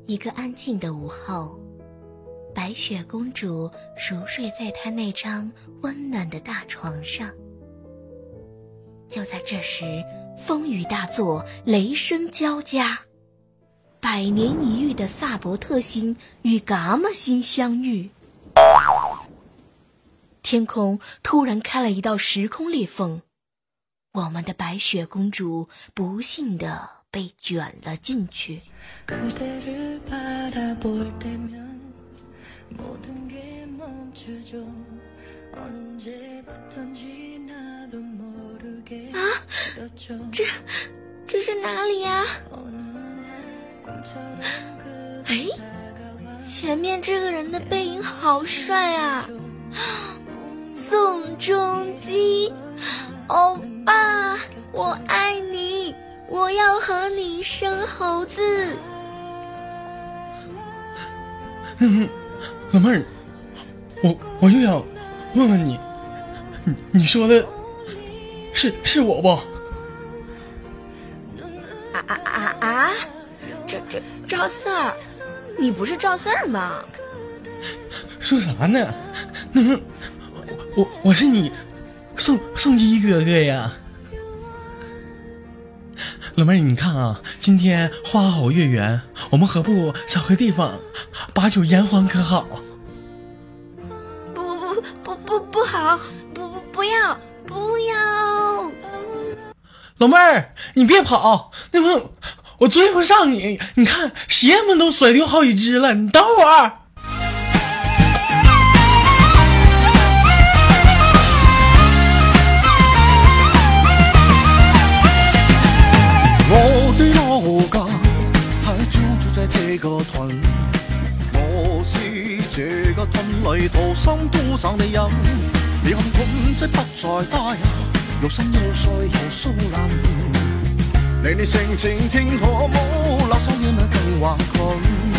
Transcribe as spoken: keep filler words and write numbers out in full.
一个安静的午后，白雪公主熟睡在她那张温暖的大床上。就在这时，风雨大作，雷声交加，百年一遇的萨伯特星与伽马星相遇，天空突然开了一道时空裂缝，我们的白雪公主不幸地被卷了进去。啊，这这是哪里呀？哎，前面这个人的背影好帅啊！宋仲基，欧巴，我爱你，我要和你生猴子。 嗯，老妹儿，我我又要问问你，你你说的是是我不？ 啊啊啊啊！这这赵四儿，你不是赵四儿吗？ 说啥呢？那么我我我是你宋宋基哥哥呀。老妹儿，你看啊，今天花好月圆，我们何不找个地方把酒言欢可好？ 不不不不不好，不不不要不要！ 老妹儿，你别跑，那么我追不上你。你看鞋们都甩丢好几只了，你等会儿。 我的老家还就住在这个屯，我是这个屯里土生土长的人。你看屯仔不再大呀，又深又帥又騷爛，你哋性情聽可冇，留守夜晚更話困。